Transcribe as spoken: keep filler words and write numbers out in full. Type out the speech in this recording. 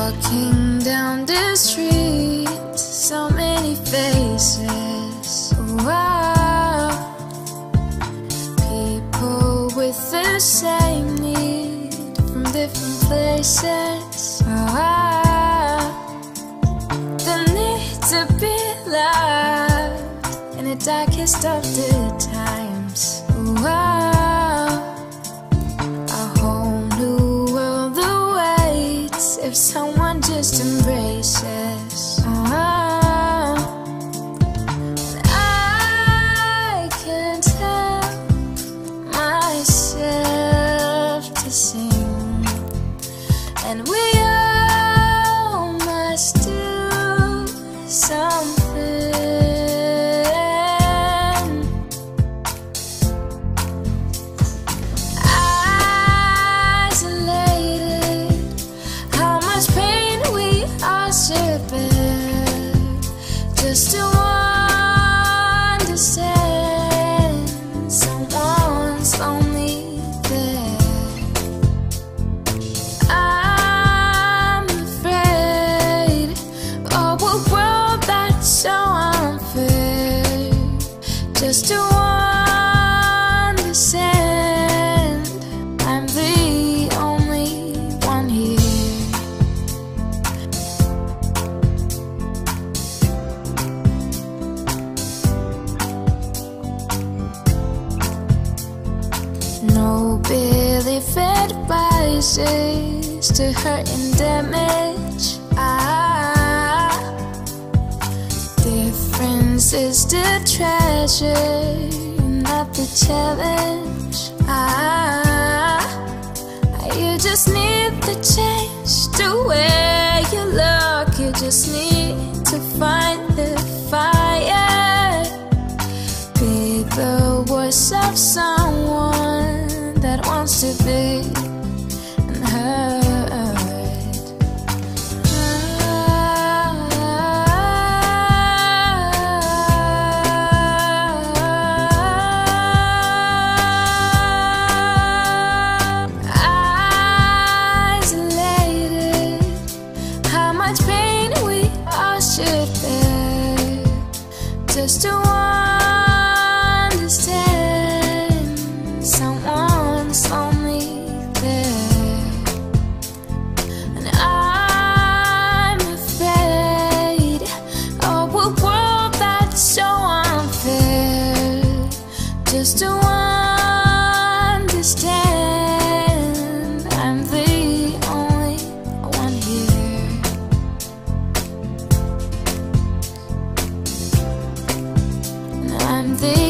Walking down the street, so many faces. Wow. People with the same need from different places. Wow. The need to be loved in the darkest of the times. Wow. A whole new world awaits if someone just embraces. Oh, I can't help myself to sing, and we all must do something. Just to understand someone's lonely there. I'm afraid of a world that's so unfair. Just to understand I'm the only one here. No belief advises to hurt and damage. Ah, difference is the treasure, not the challenge. Ah, you just need the change the way you look. You just need to find the fire. Be the voice of someone that wants to be unheard. Isolated, how much pain we all should bear just to understand someone's lonely there. And I'm afraid of a world that's so unfair. Just to understand I'm the only one here. And I'm the